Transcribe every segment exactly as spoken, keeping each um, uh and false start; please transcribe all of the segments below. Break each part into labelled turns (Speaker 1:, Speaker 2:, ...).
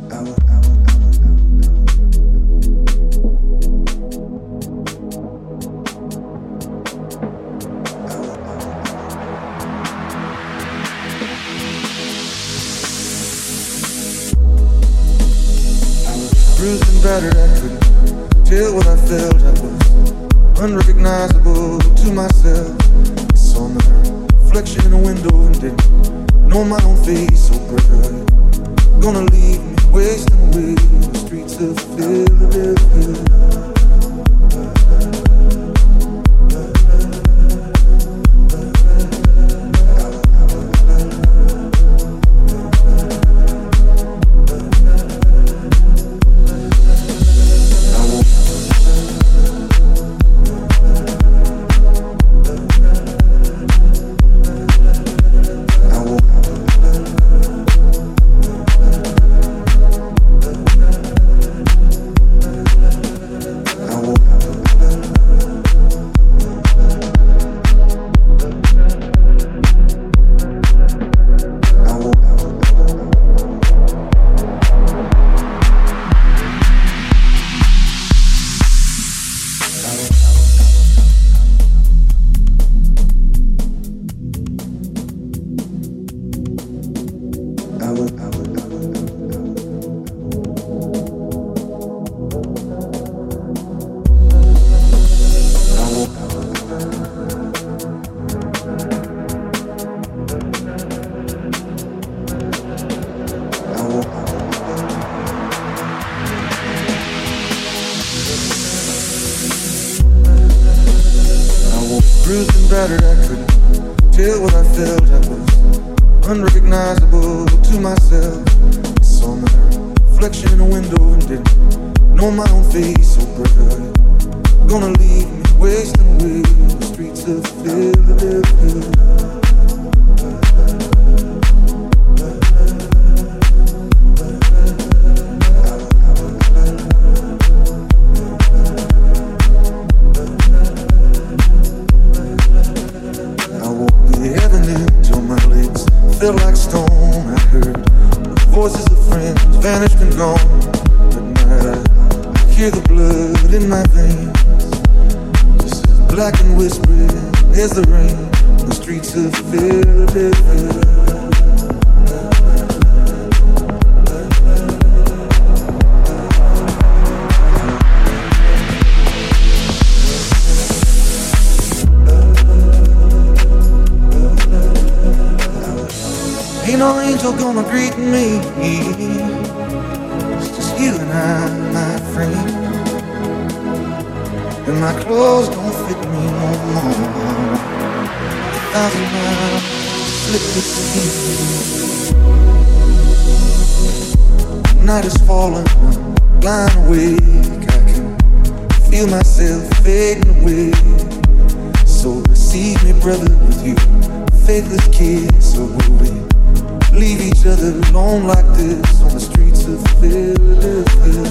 Speaker 1: Bruised and battered, I couldn't tell what I felt. I was unrecognizable to myself. I saw my reflection in a window and didn't know my own face so bright. Gonna leave me wasting away on the streets of Philadelphia. Bruised and battered, I couldn't tell what I felt. I was unrecognizable to myself. I saw my reflection in a window and didn't know my own face so bright. Gonna leave me wasting away on the streets of Philadelphia. Felt like stone. I heard the voices of friends vanished and gone. At night I, I hear the blood in my veins, just as black and whispering as the rain on the streets of Philadelphia. Ain't no angel gonna greet me. It's just you and I, my friend. And my clothes don't fit me no more. A thousand miles slip between. Night is falling, I'm blind awake. I can feel myself fading away. So receive me, brother, with you faithless kiss. So will we leave each other alone like this on the streets of Philadelphia?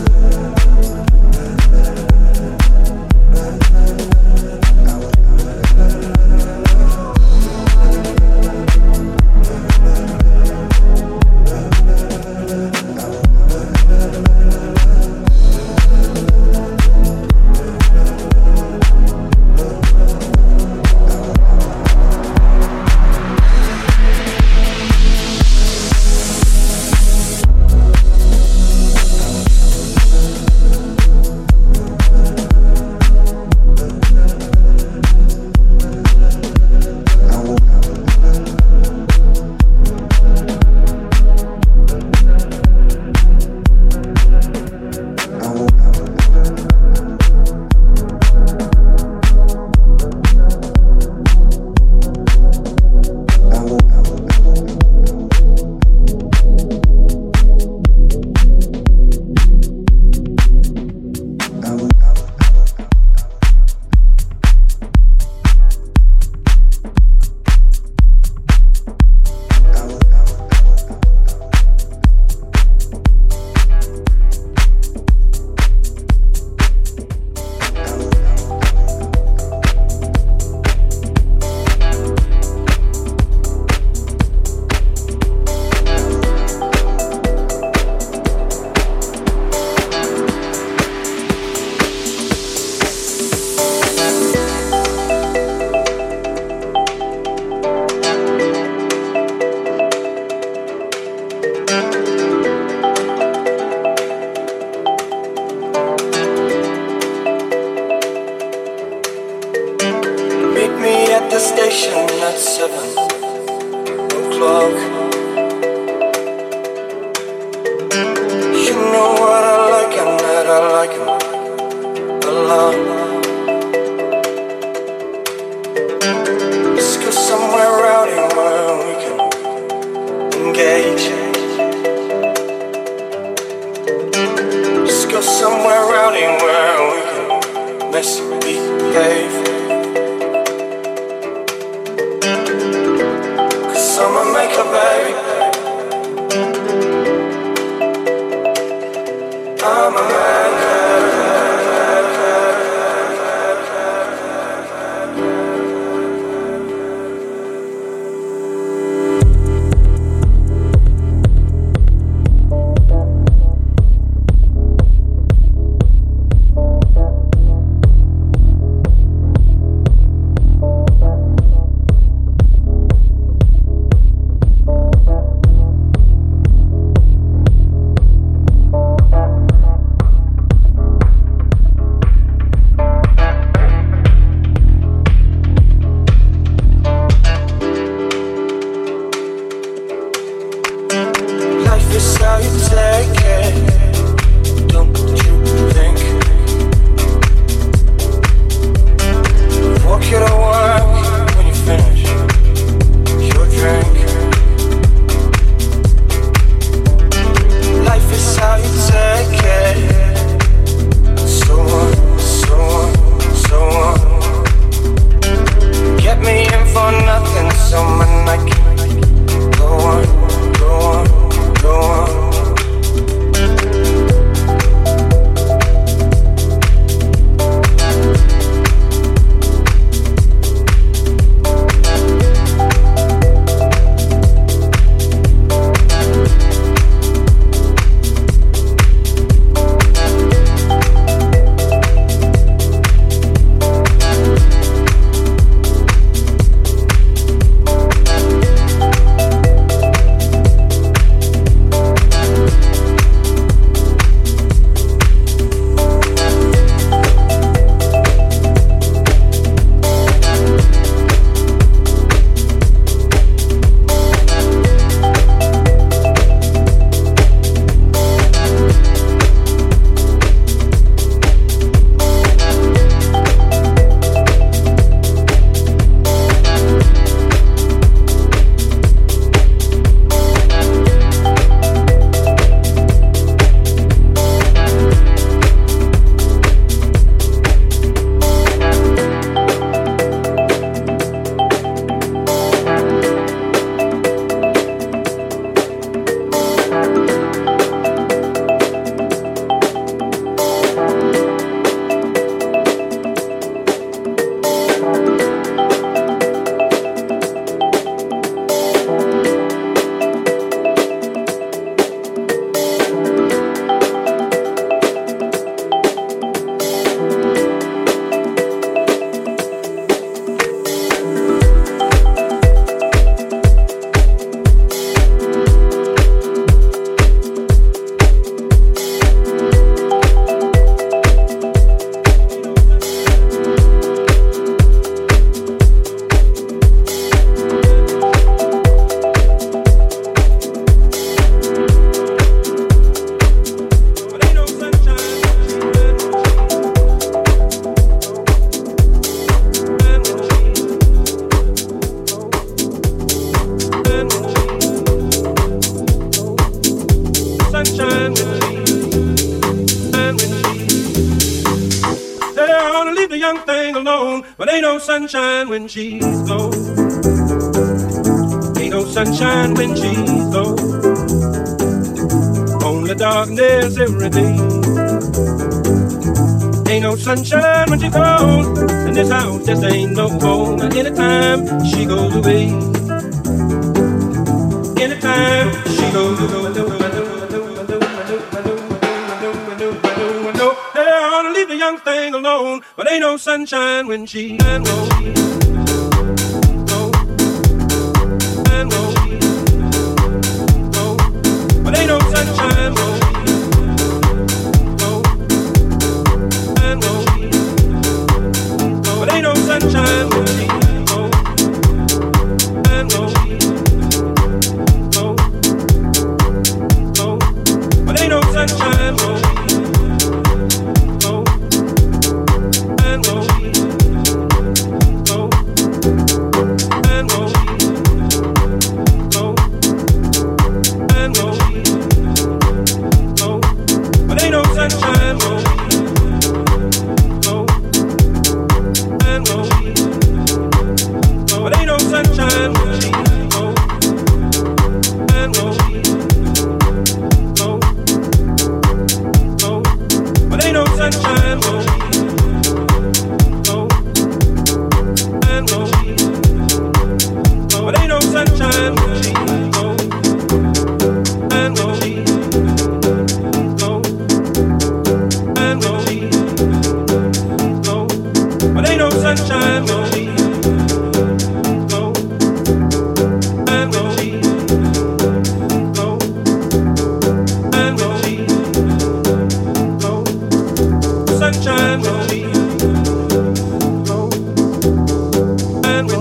Speaker 1: love. Let's go somewhere rowdy where we can engage. Let's go somewhere rowdy where we can misbehave. Cause I'ma make a baby. I'm a man.
Speaker 2: Sunshine when she's gone. Ain't no sunshine when she's gone. Only darkness every day. Ain't no sunshine when she's gone. And this house just ain't no home. Anytime she goes away. Anytime she goes away. Leave the young thing alone, but ain't no sunshine when she's gone. But ain't no sunshine. But ain't no sunshine when she's gone. But ain't no sunshine. sunshine won't go and go. But ain't no sunshine won't go and go. Go, go. But ain't no sunshine won't go and go. But ain't no sunshine won't go and go. Sunshine, no, go and go, go and go, go. Sunshine, no, go and go.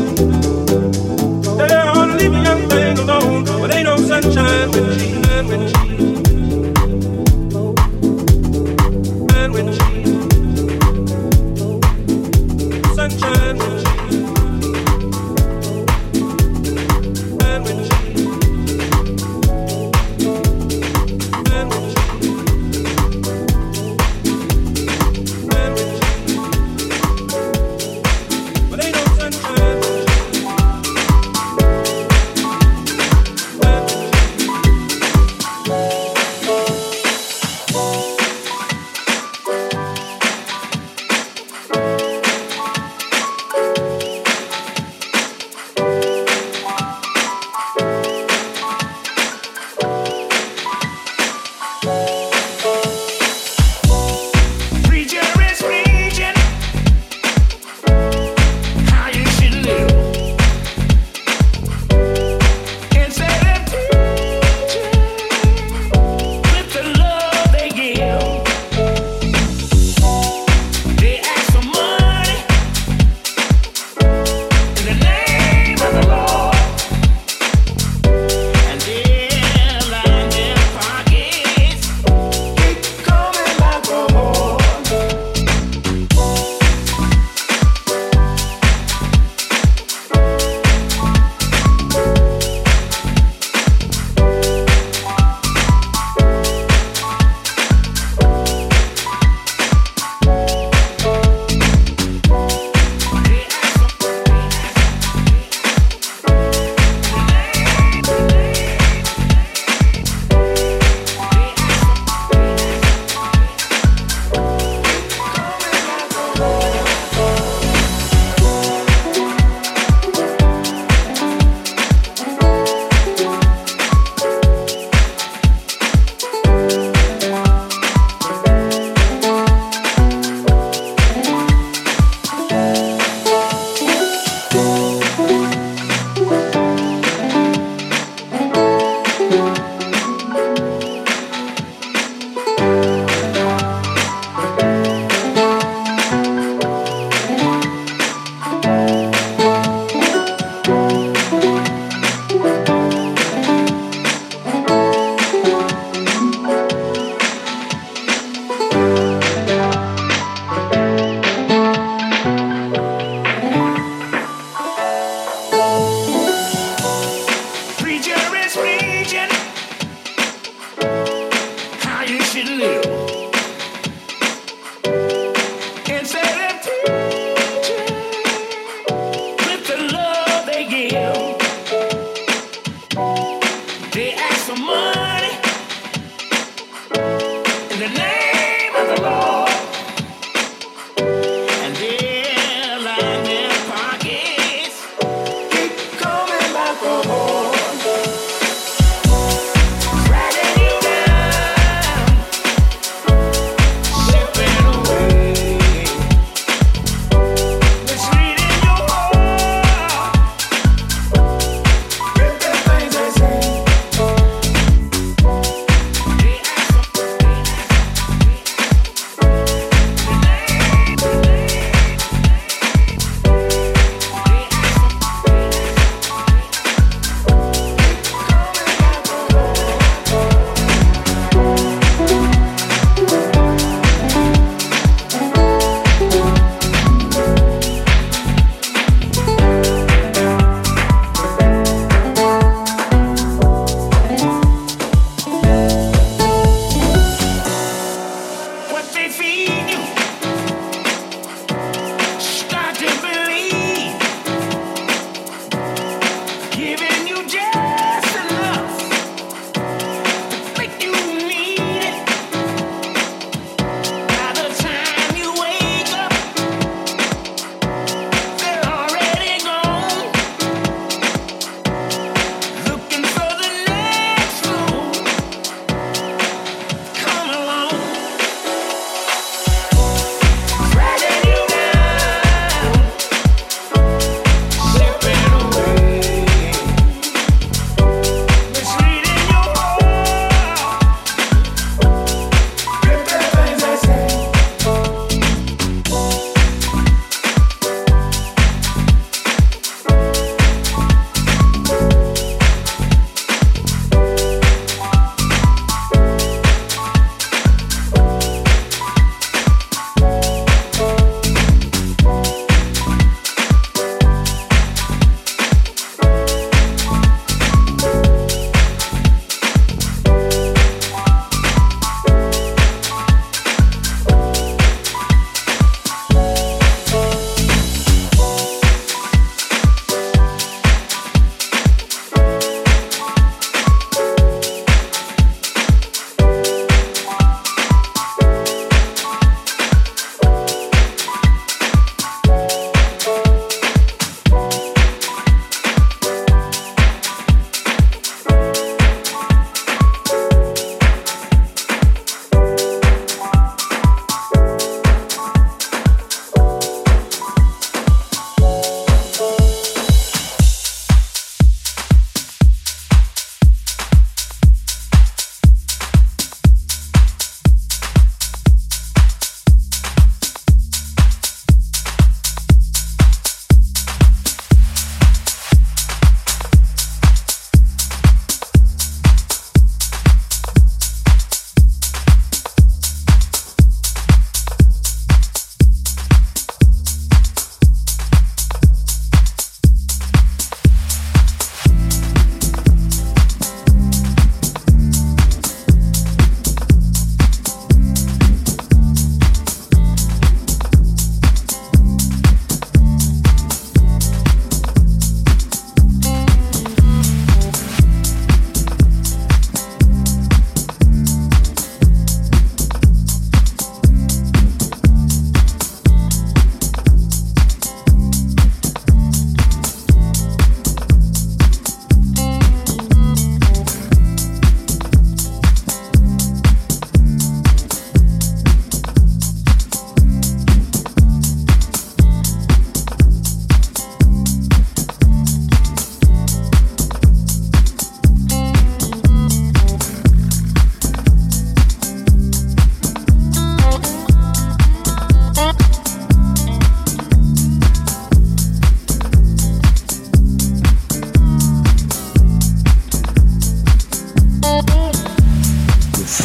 Speaker 2: They ought to leave a young thing alone, but ain't no sunshine when she and when she go and when she. Sunshine, and when she, and when she, and when she, but ain't no sunshine.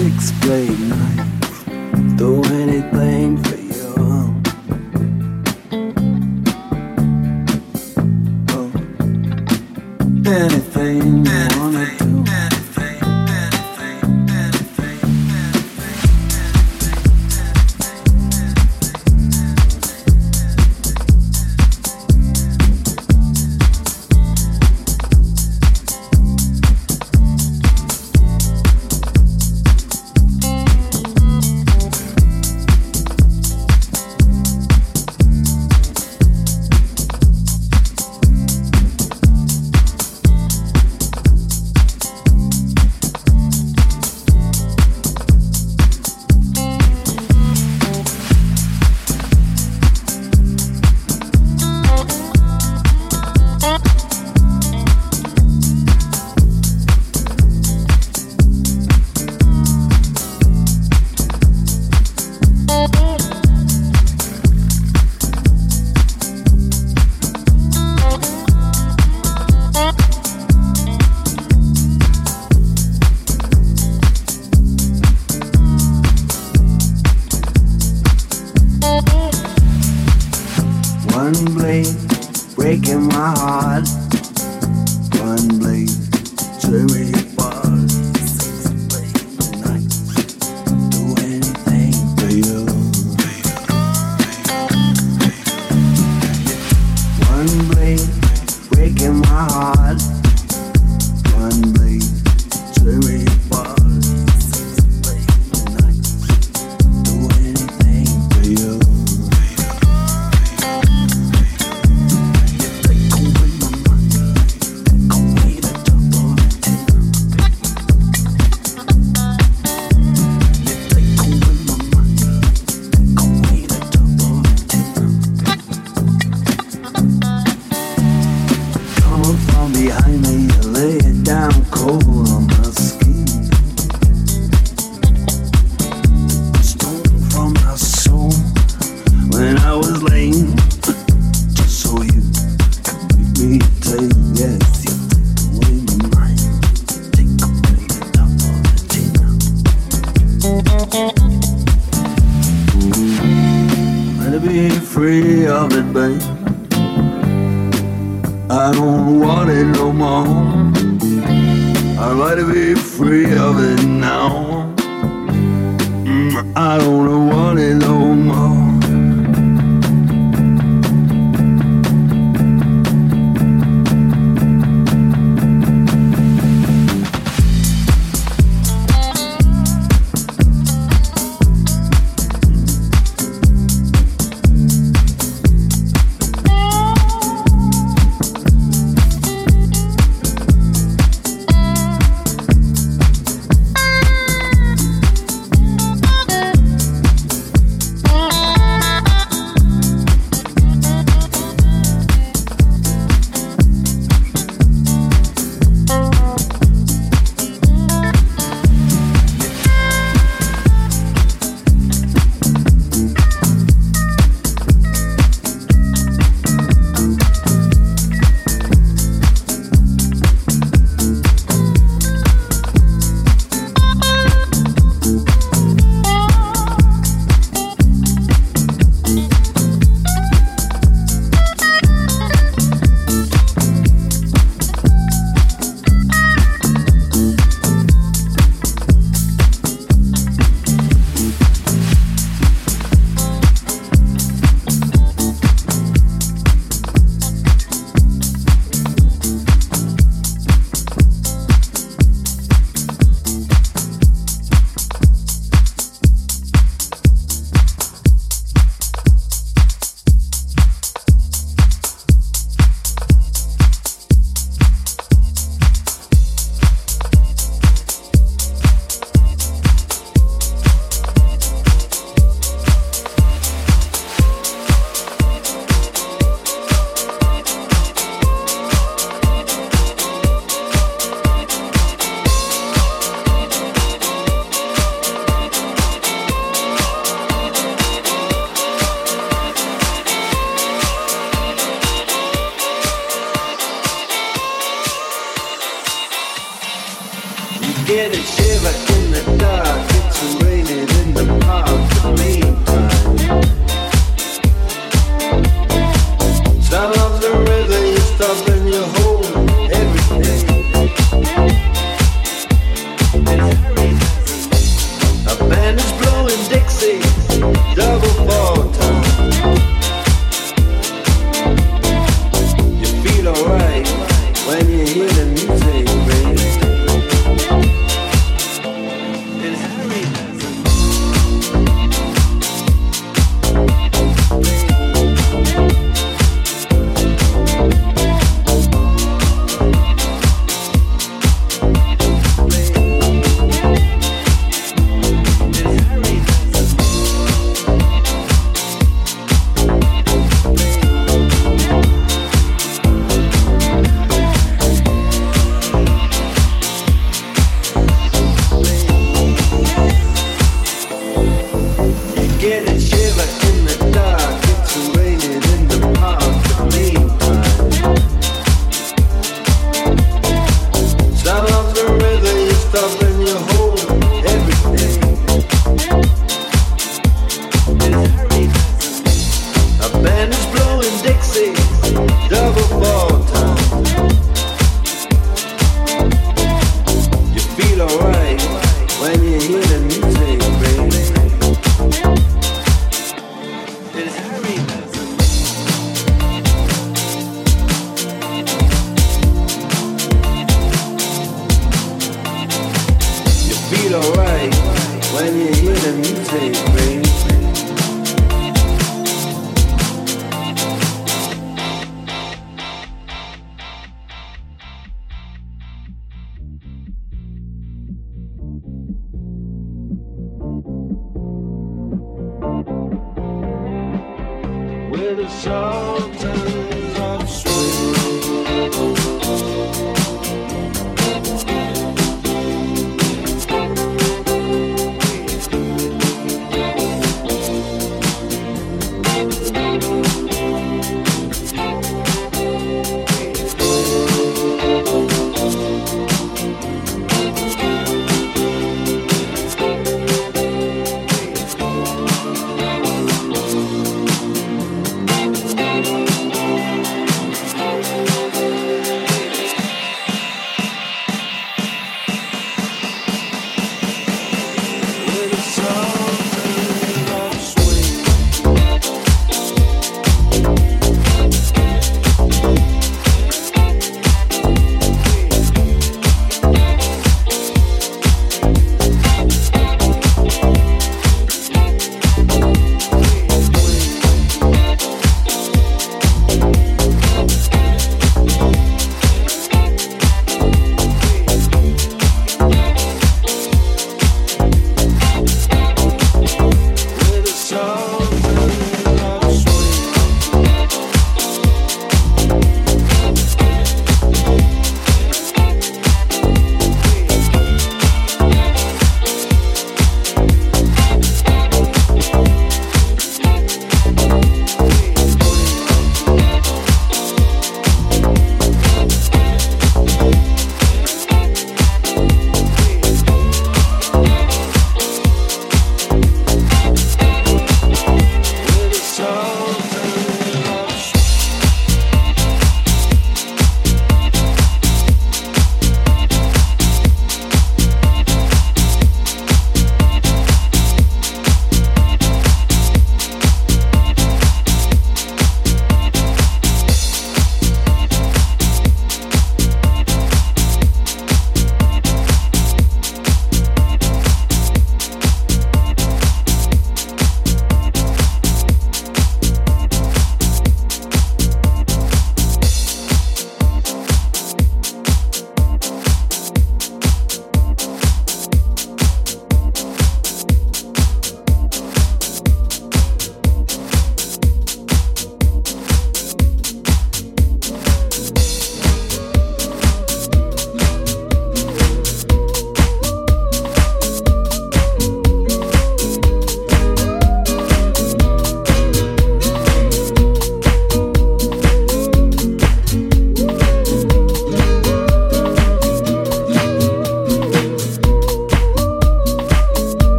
Speaker 3: six blade knife, do anything for you. Oh, anything you wanna do.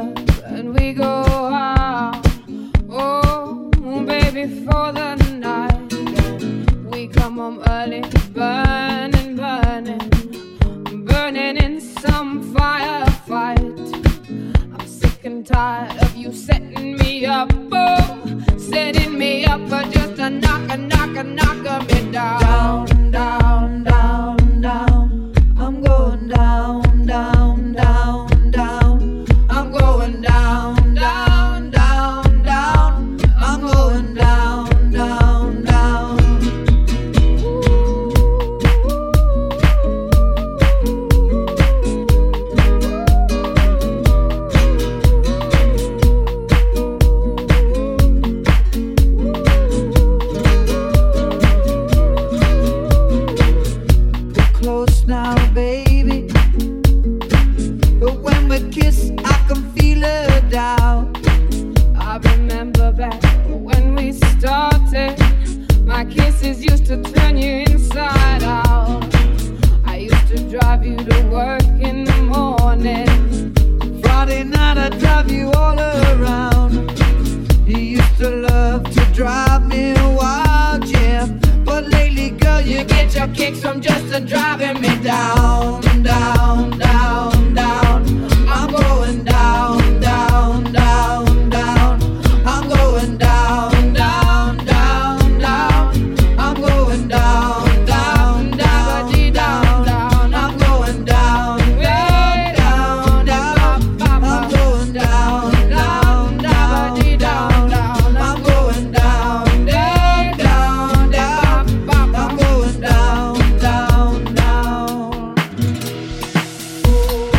Speaker 4: up and we go out. Oh, baby, for the night. And we come home early, burning, burning, burning in some firefight. I'm sick and tired of you setting me up, oh, setting me up for just a knock, a knock, a knock of me down, down, down, down. I'm going down, down, down, down. I'm going down, down, down, down. I'm going down, down, down. We're close now, baby, but when we kiss, I can feel her down. I remember back when we started, my kisses used to turn you inside out. I used to drive you to work in the morning. Friday night I'd drive you all around. You used to love to drive me wild, yeah. But lately, girl, you get your kicks from just driving me down, down, down, down. I'm going down, down, down, down. I'm going down, down, down, down. I'm going down, down, down, down, down. I'm going down, down, down, down. I'm going down, down, down, down, down. I'm going down, down, down, down. I'm going down, down, down.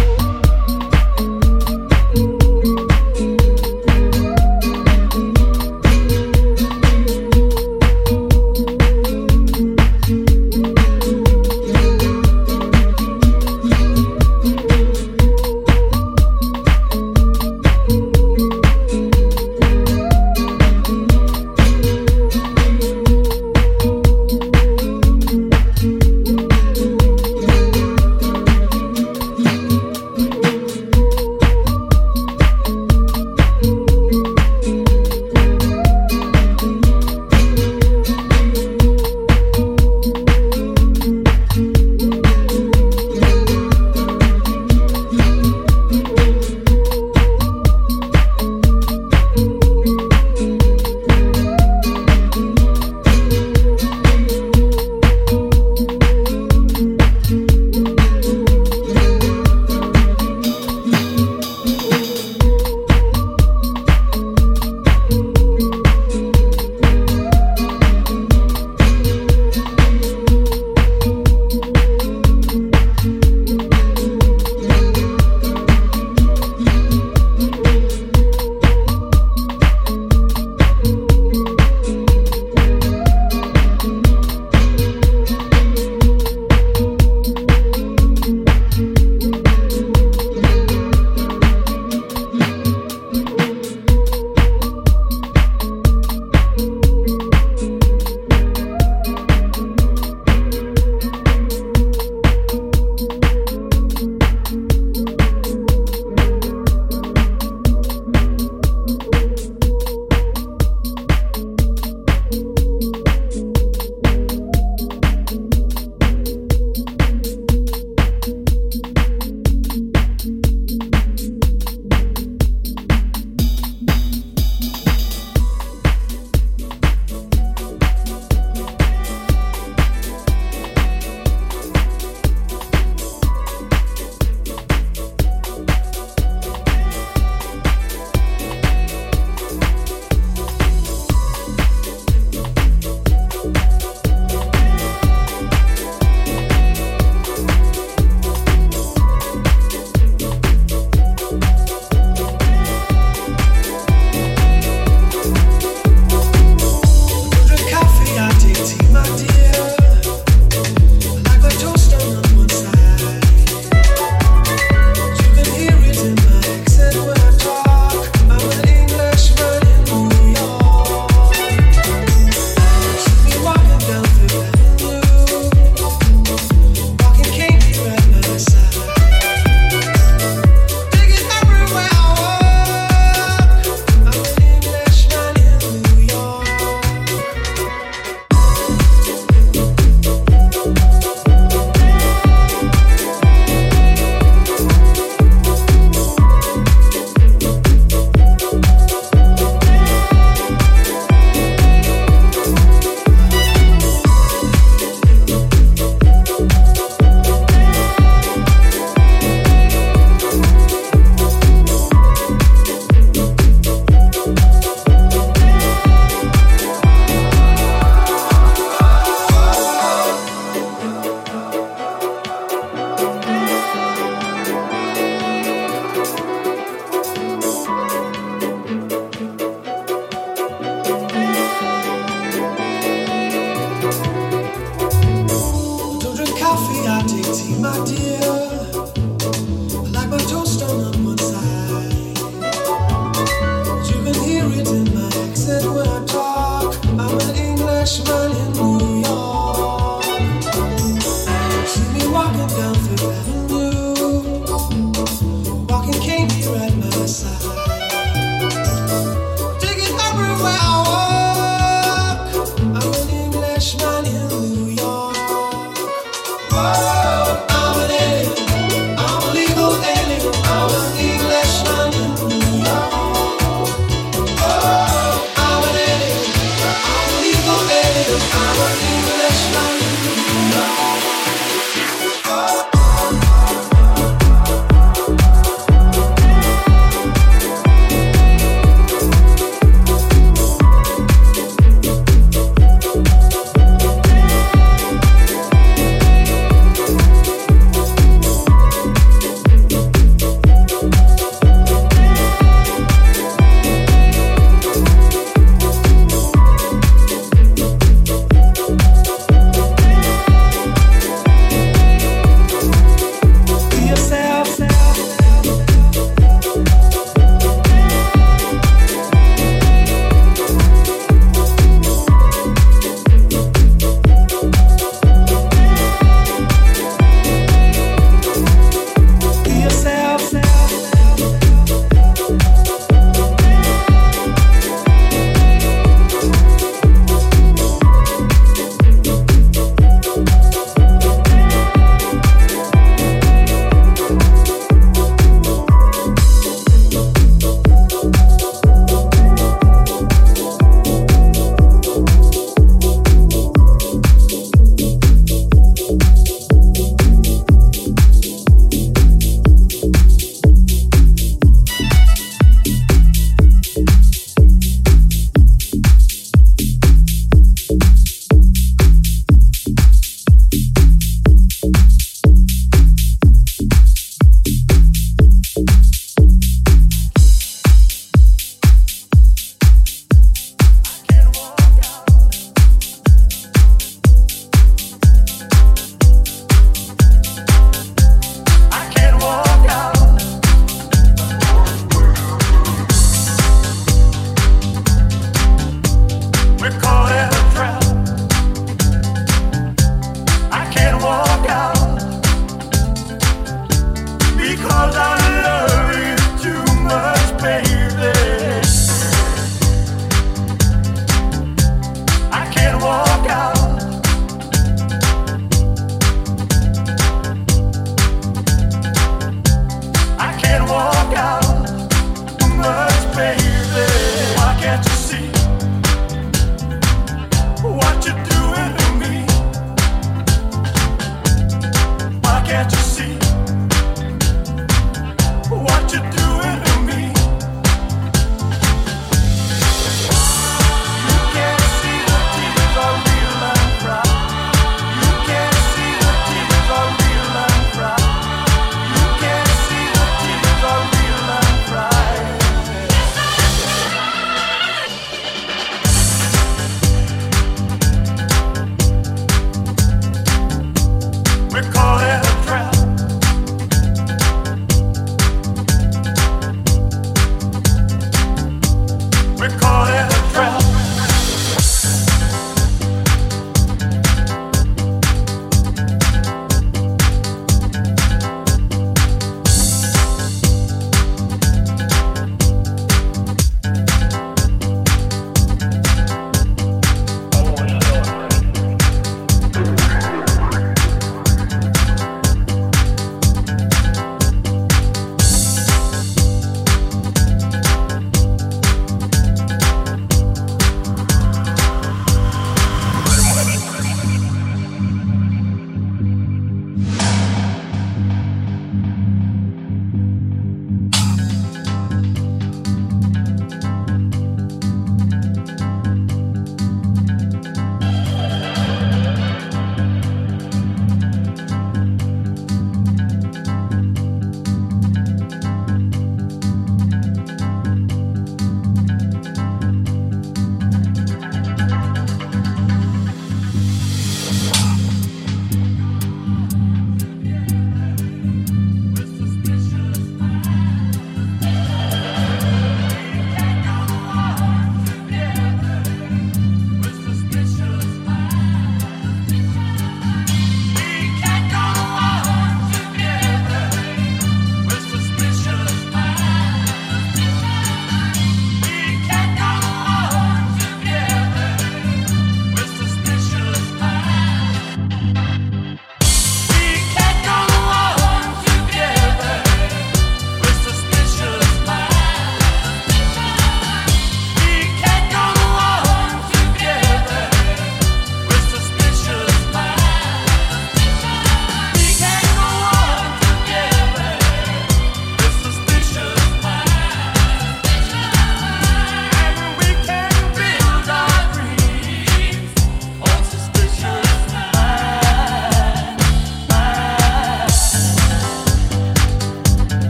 Speaker 5: Yes,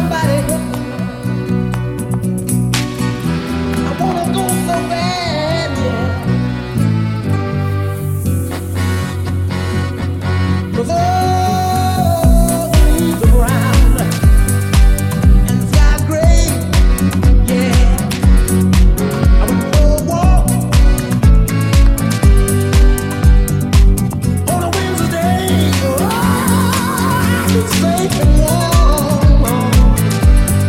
Speaker 5: Safe and warm.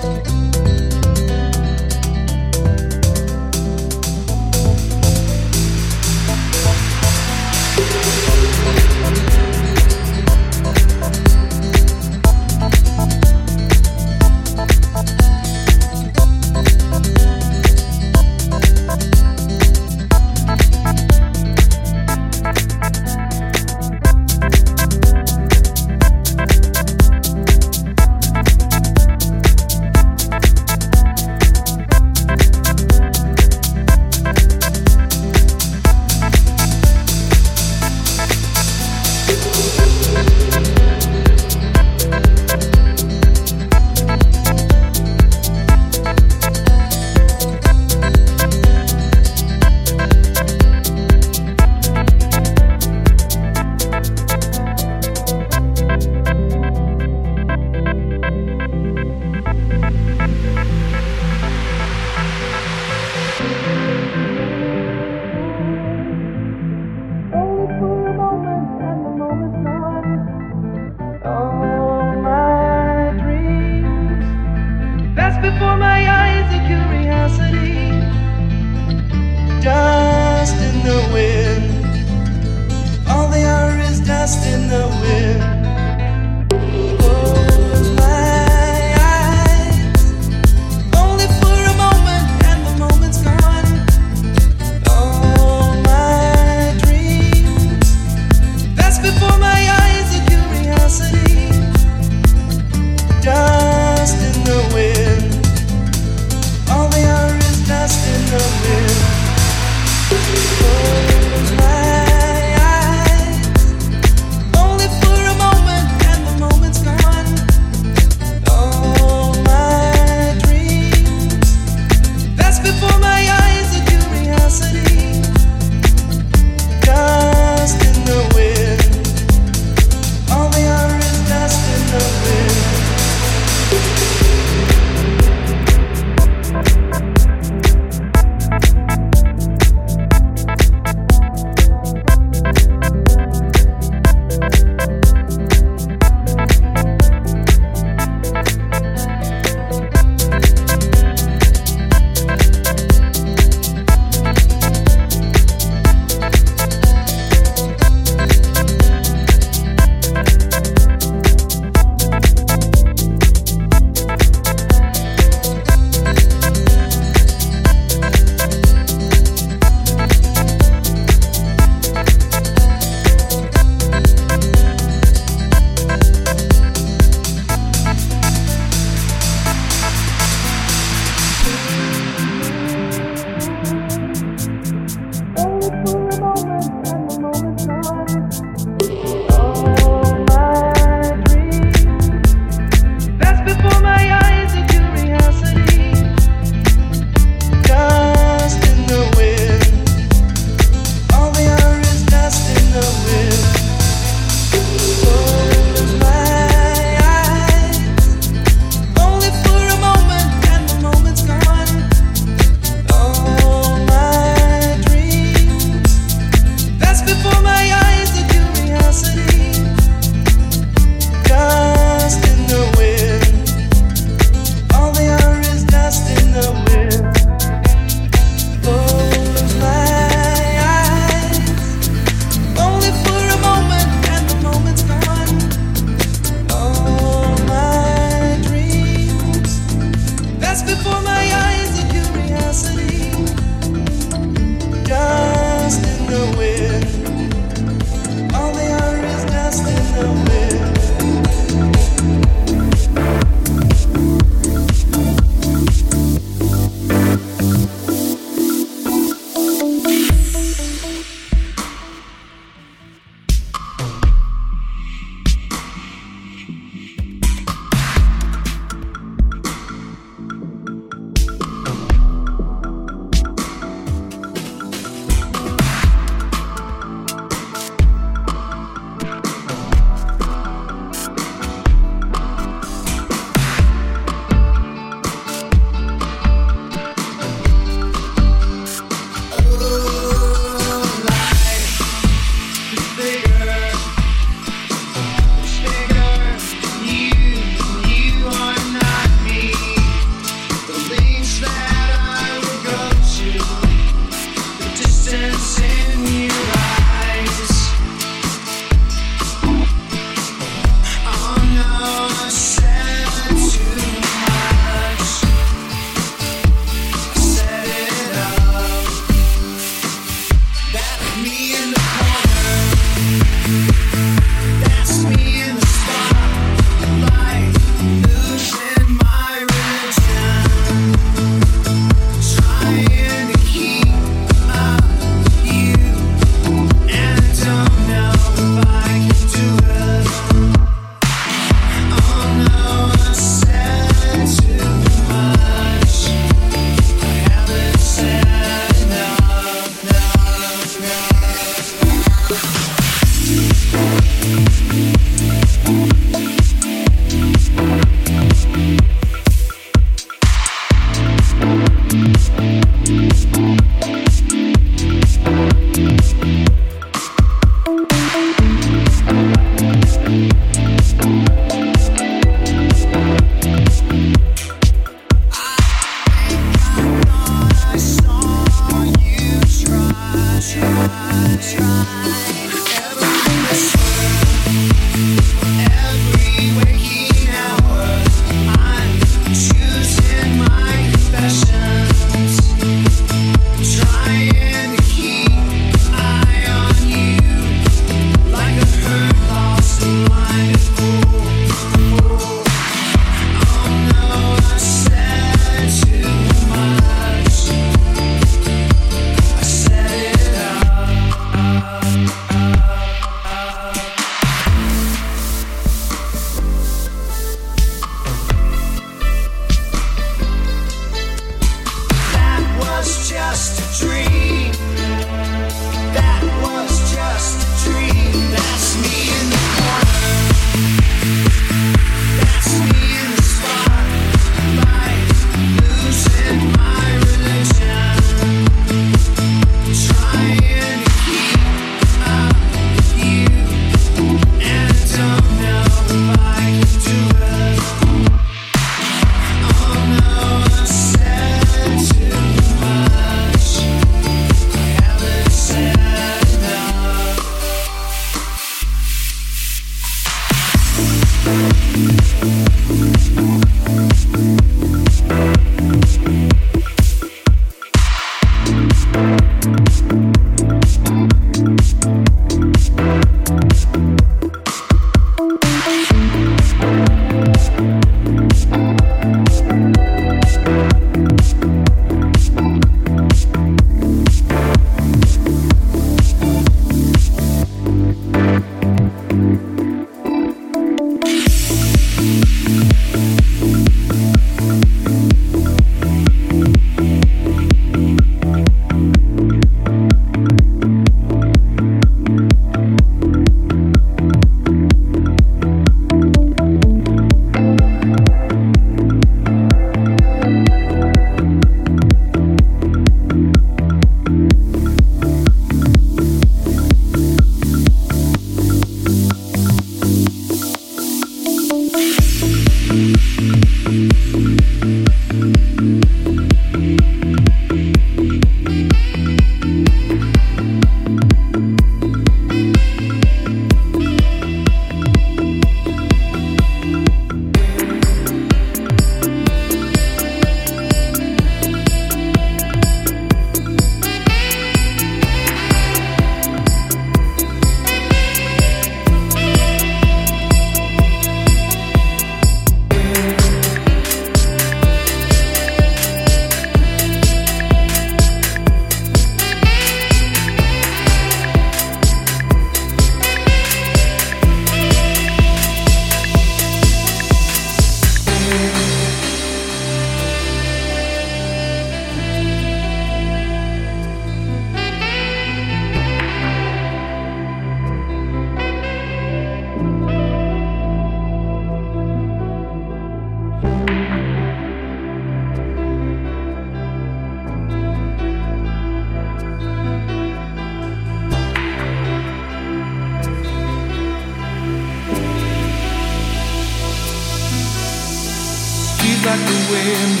Speaker 5: like the wind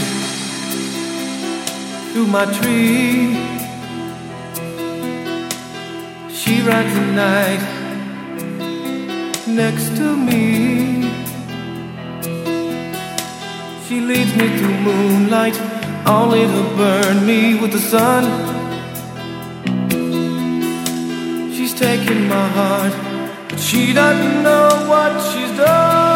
Speaker 5: through my tree. She rides the night next to me. She leads me through moonlight, only to burn me with the sun. She's taken my heart, but she doesn't know what she's done.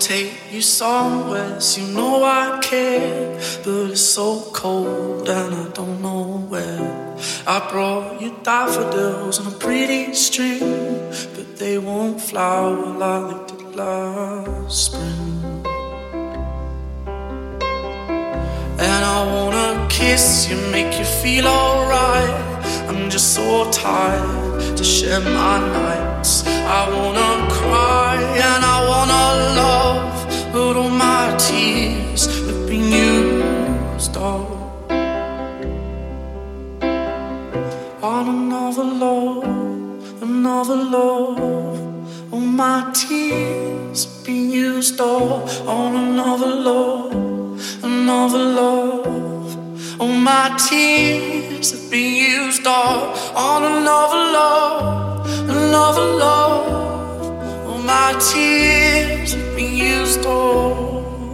Speaker 6: take you somewhere, so you know I care. But it's so cold and I don't know where. I brought you daffodils on a pretty string, but they won't flower like they did last spring. And I wanna kiss you, make you feel alright. I'm just so tired to share my nights. I wanna cry and I wanna love, but all my tears have been used up on another love, another love. All my tears have been used up on another love, another love. All my tears have been used up on another love, another love. All my tears have been used up.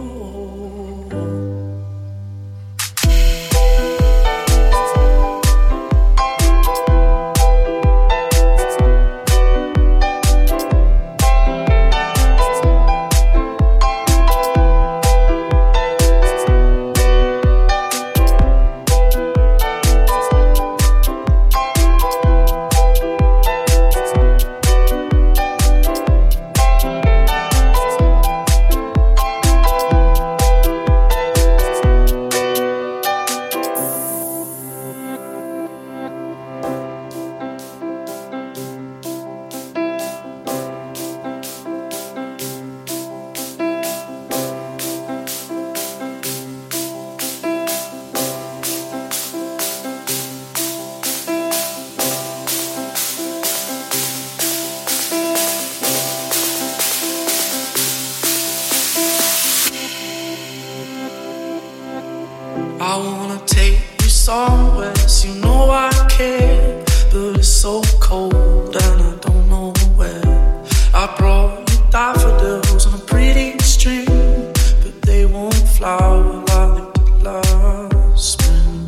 Speaker 6: I wanna take you somewhere, so you know I care. But it's so cold and I don't know where. I brought you daffodils on a pretty string, but they won't flower like they did last spring.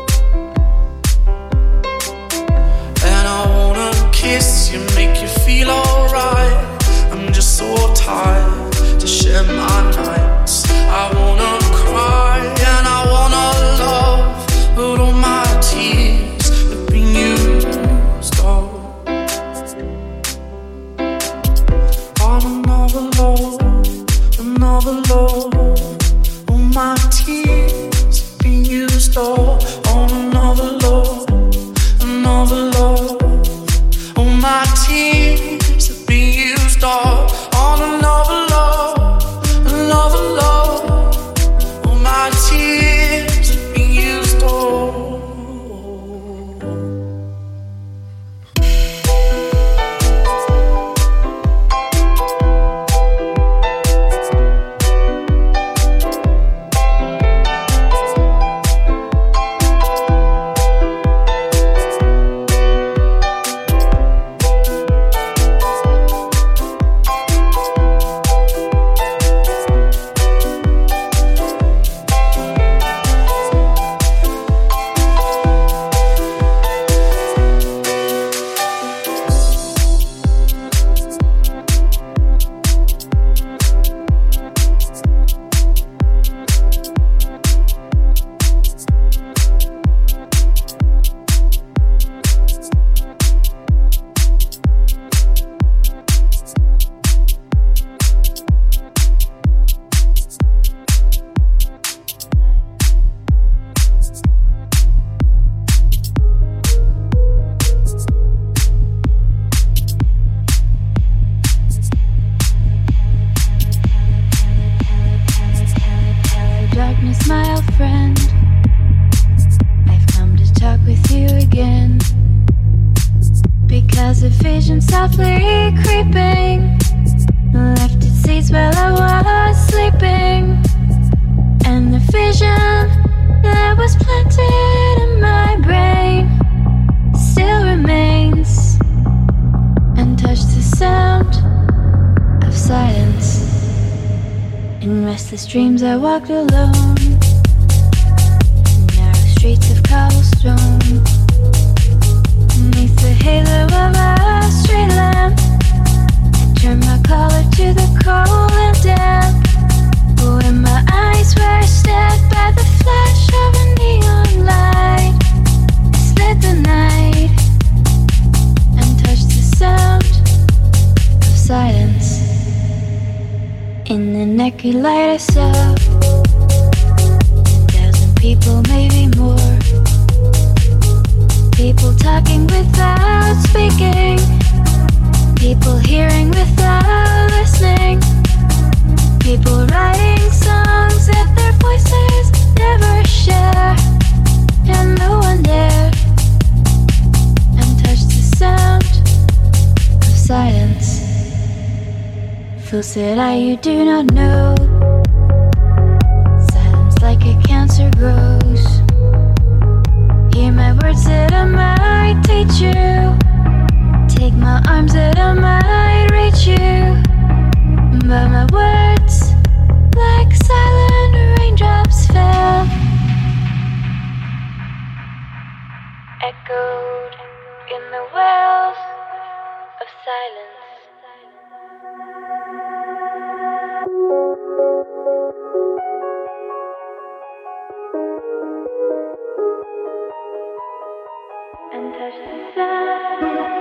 Speaker 6: And I wanna kiss you, make you feel alright. I'm just so tired to share my nights. I wanna cry and I wanna love, but all my tears have been used up on another love, another love. All my tears have been used up on another love, another love. All my tears have been used up on another love, another love. All my tears have been used up.
Speaker 7: Darkness, my old friend, I've come to talk with you again, because a vision softly creeping left its seeds while I was sleeping, and the vision that was planted in my brain still remains, and touched the sound of silence. In restless dreams I walked alone, narrow streets of cobblestone, beneath the halo of a street lamp. I turned my collar to the cold and damp, that could light us up. A thousand people, maybe more. People talking without speaking. People hearing without listening. People writing songs that their voices never share. And no one dare untouch the sound of silence. Fools that I you do not know. Silence like a cancer grows. Hear my words that I might teach you. Take my arms that I might reach you. But my words, like silent raindrops, fell, echoed in the wells of silence. And touch the sound.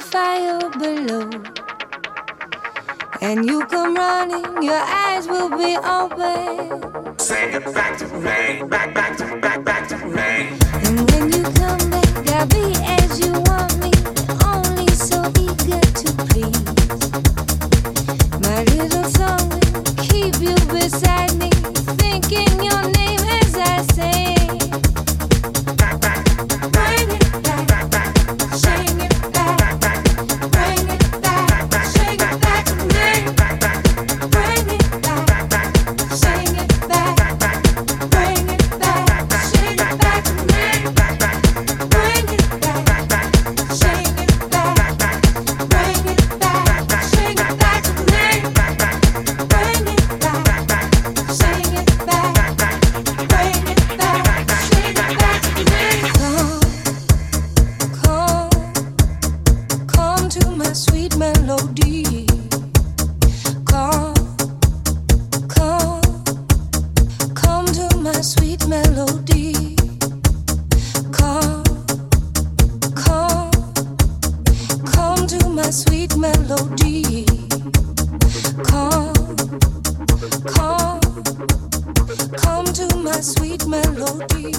Speaker 8: fire below. And you come running, your eyes will be open.
Speaker 9: Sing it back to me, back, back to, back, back to me.
Speaker 8: And when you come back, I'll be as you want me, only so eager to please. My little song will keep you beside me, thinking your name as I sing.
Speaker 9: Back, back,
Speaker 8: bring it back,
Speaker 9: back, back,
Speaker 8: sing it back,
Speaker 9: back, back,
Speaker 8: bring it back,
Speaker 9: back,
Speaker 8: sing it back to me.
Speaker 9: back, back,
Speaker 8: Bring it back,
Speaker 9: back, back,
Speaker 8: sing it back,
Speaker 9: back, back,
Speaker 8: bring it back, sing it back to me.
Speaker 9: back, back,
Speaker 8: Bring it back,
Speaker 9: back, back,
Speaker 8: sing it back,
Speaker 9: back, back,
Speaker 8: bring it back, sing it back to me.
Speaker 9: back, back,
Speaker 8: Bring it back,
Speaker 9: back, back,
Speaker 8: sing it back,
Speaker 9: back, back.
Speaker 8: bring it back, sing it back to me. Come, come, come to my sweet melody. Come, come, come to my sweet melody. Come, come, come to my sweet melody. Come, come, come to my sweet melody.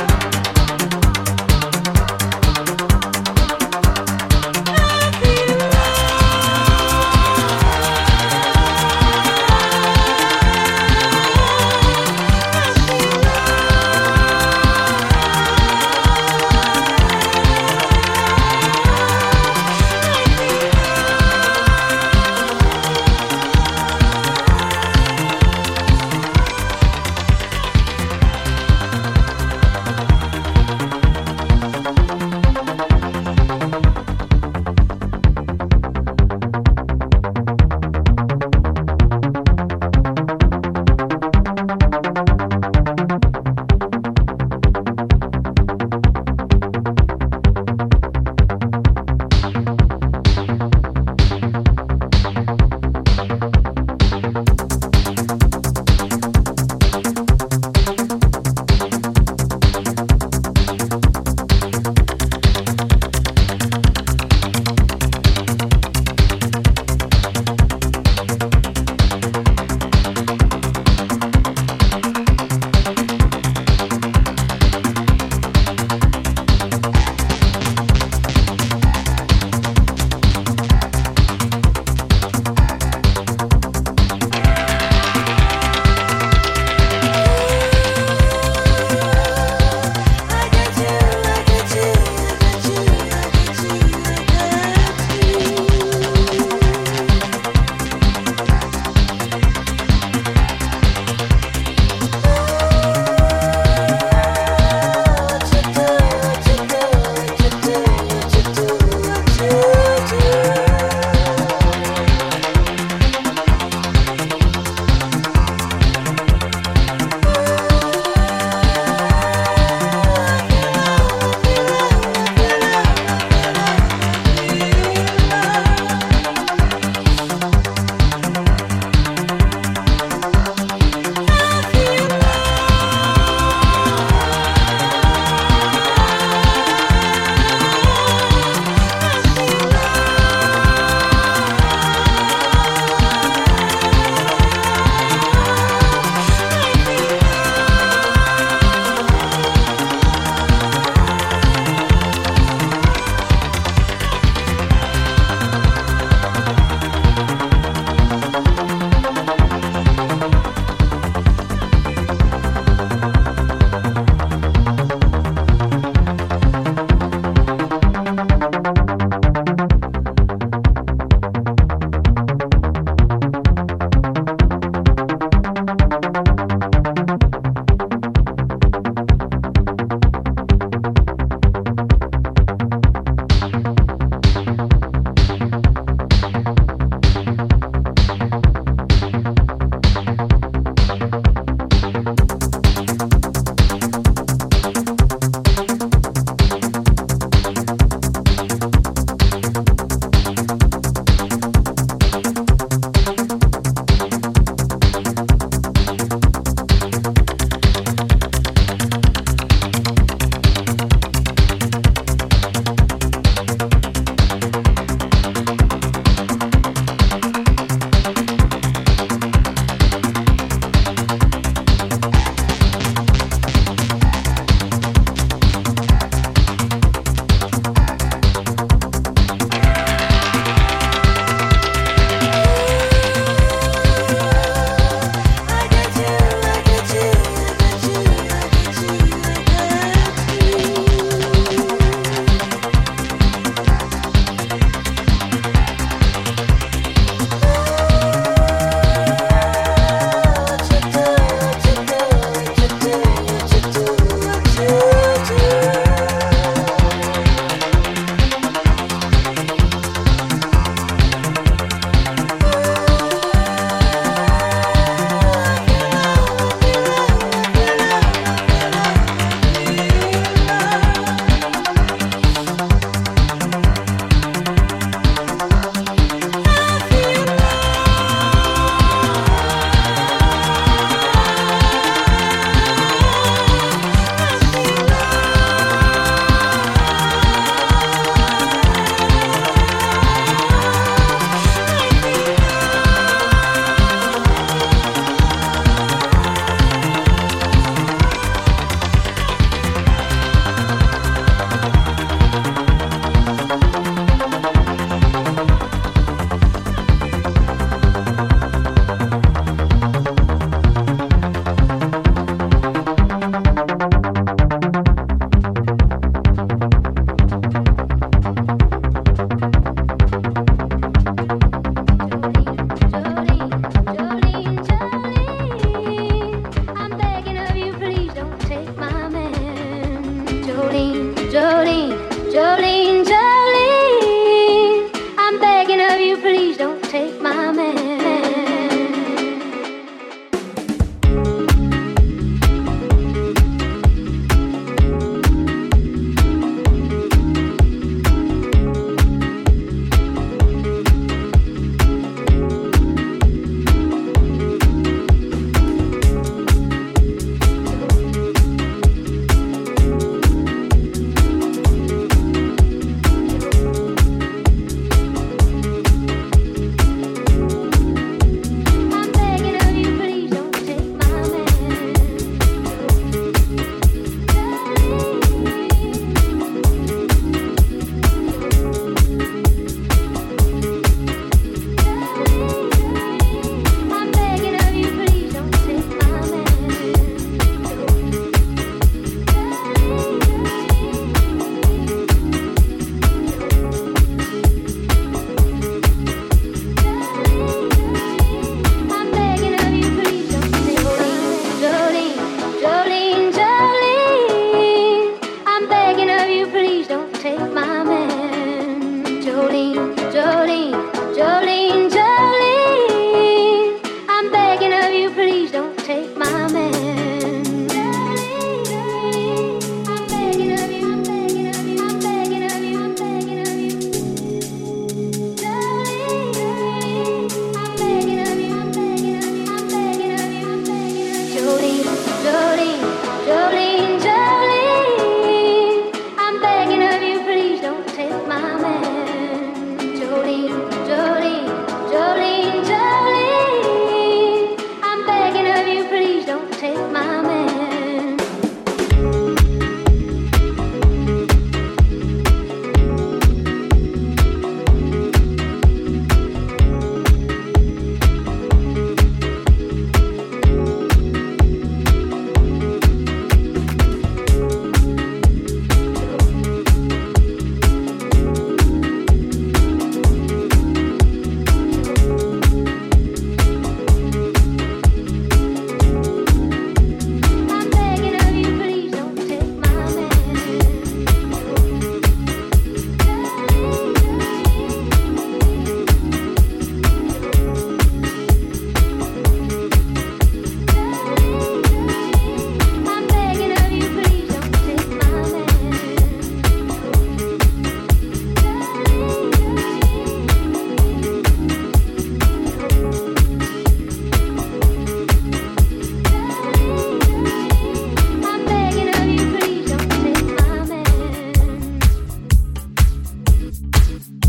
Speaker 8: I feel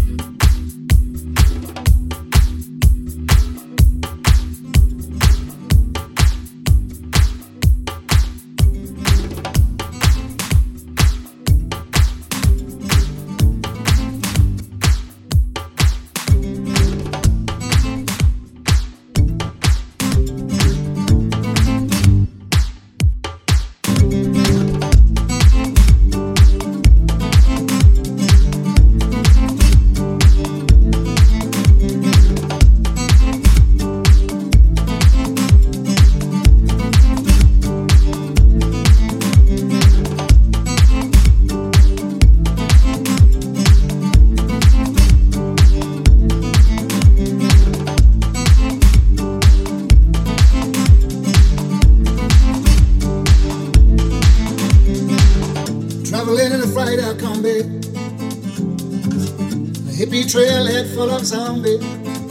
Speaker 10: Full of zombie.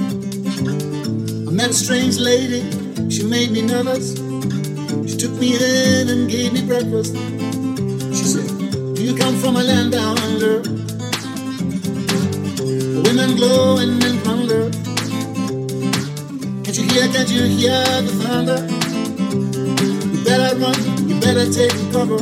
Speaker 10: I met a strange lady, she made me nervous. She took me in and gave me breakfast. She said, do you come from a land down under? The women glow and men plunder. Can't you hear, can't you hear the thunder? You better run, you better take cover.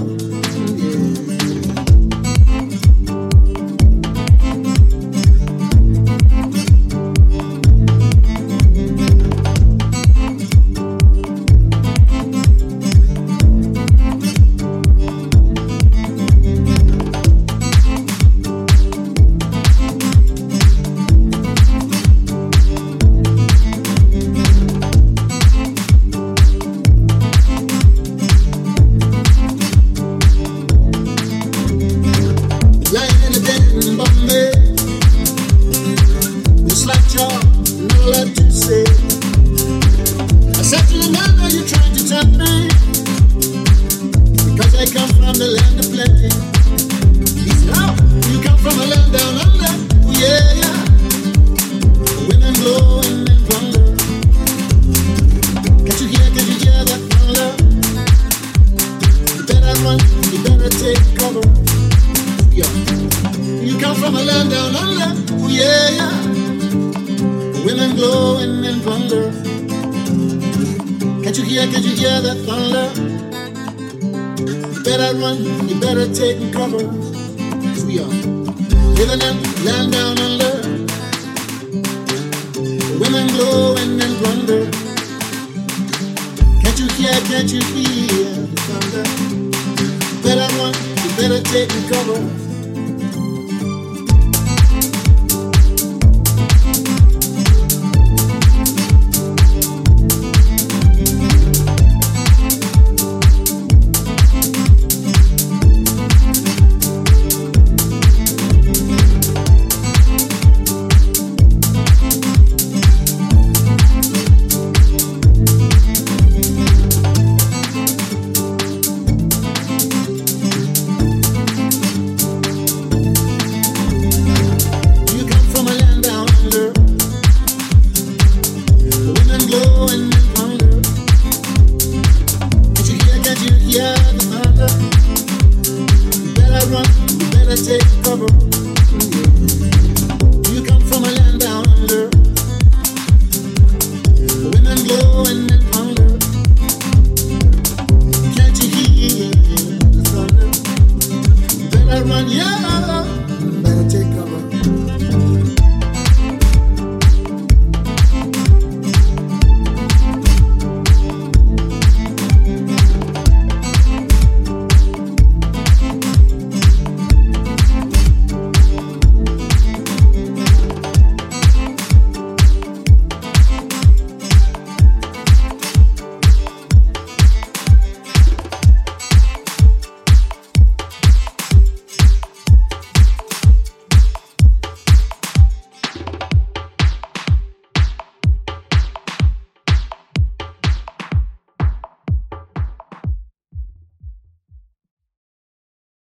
Speaker 10: Can't you hear the thunder? Better run, you better take cover.